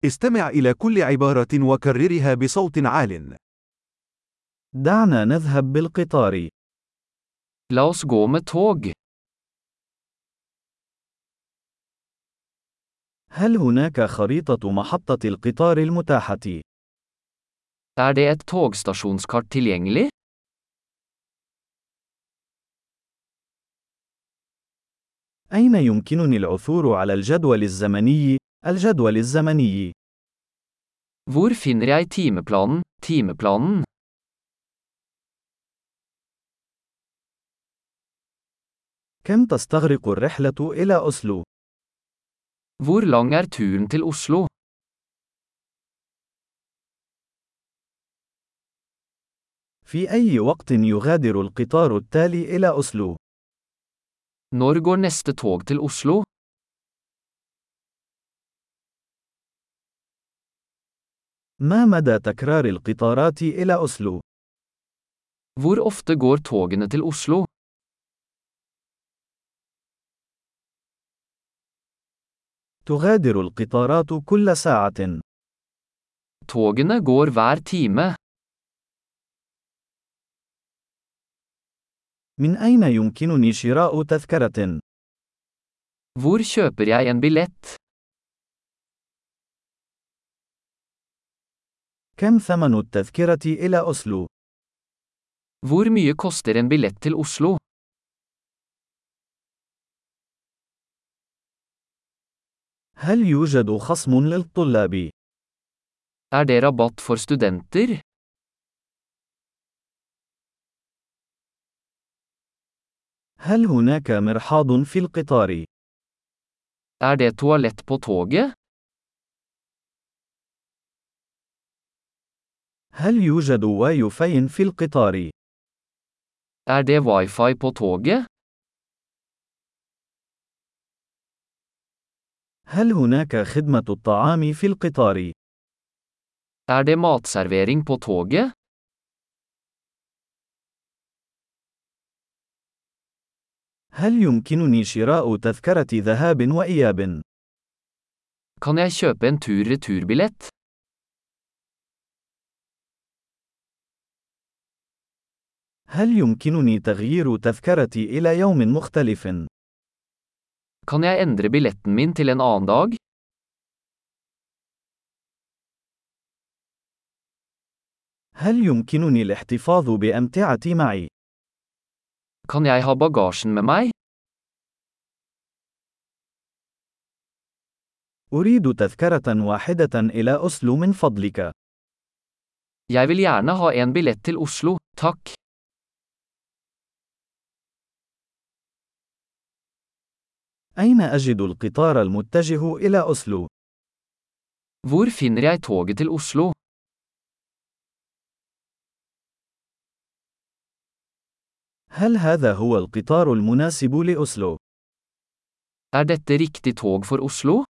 استمع إلى كل عبارة وكررها بصوت عال. دعنا نذهب بالقطار. La oss gå med tog. هل هناك خريطة محطة القطار المتاحة؟ Er det et togstasjonskart tilgjengelig? أين يمكنني العثور على الجدول الزمني؟ الجدول الزمني. Hvor finner jeg timeplanen? Timeplanen. كم تستغرق الرحلة إلى أوسلو؟ Hvor lang er turen til Oslo? في أي وقت يغادر القطار التالي إلى أوسلو؟ Når går neste tog til Oslo? ما مدى تكرار القطارات إلى أوسلو؟ Hvor ofte går togene til Oslo? تغادر القطارات كل ساعة. Togene går hver time. من أين يمكنني شراء تذكرة؟ Hvor kjøper jeg en billett? كم ثمن التذكرة إلى أوسلو؟ Hvor mye koster en billett til Oslo? هل يوجد خصم للطلاب؟ Er det rabatt for studenter? هل هناك مرحاض في القطار؟ Er det toalett på toget? هل يوجد واي فاي في القطار؟ Er det wifi på toget? هل هناك خدمة الطعام في القطار؟ Er det matservering på toget? هل يمكنني شراء تذكرة ذهاب وإياب؟ Kan jeg kjøpe en tur-returbillett? هل يمكنني تغيير تذكرتي إلى يوم مختلف؟ Kan jeg endre billetten min til en annen dag? هل يمكنني الاحتفاظ بأمتعتي معي؟ Kan jeg ha bagasjen med meg? أريد تذكرة واحدة إلى أوسلو من فضلك. Jeg vil gjerne ha en billett til Oslo, takk. أين أجد القطار المتجه إلى أوسلو؟ Hvor finner jeg toget til Oslo? هل هذا هو القطار المناسب لأوسلو؟ Er dette riktig tog for Oslo?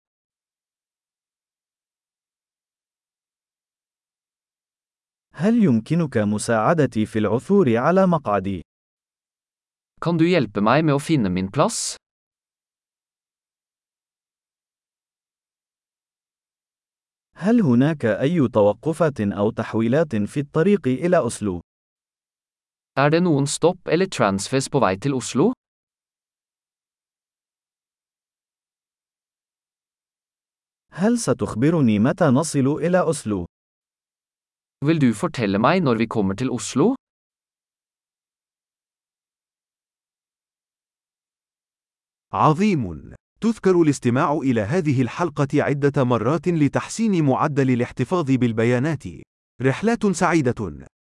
هل يمكنك مساعدتي في العثور على مقعدي؟ Kan du hjelpe meg med å finne min plass? هل هناك أي توقفات أو تحويلات في الطريق إلى أوسلو؟ Er det noen stopp eller transfers på vei til Oslo? هل ستخبرني متى نصل إلى أوسلو؟ Vil du fortelle meg når vi kommer til Oslo? عظيم! تذكر الاستماع إلى هذه الحلقة عدة مرات لتحسين معدل الاحتفاظ بالبيانات. رحلات سعيدة!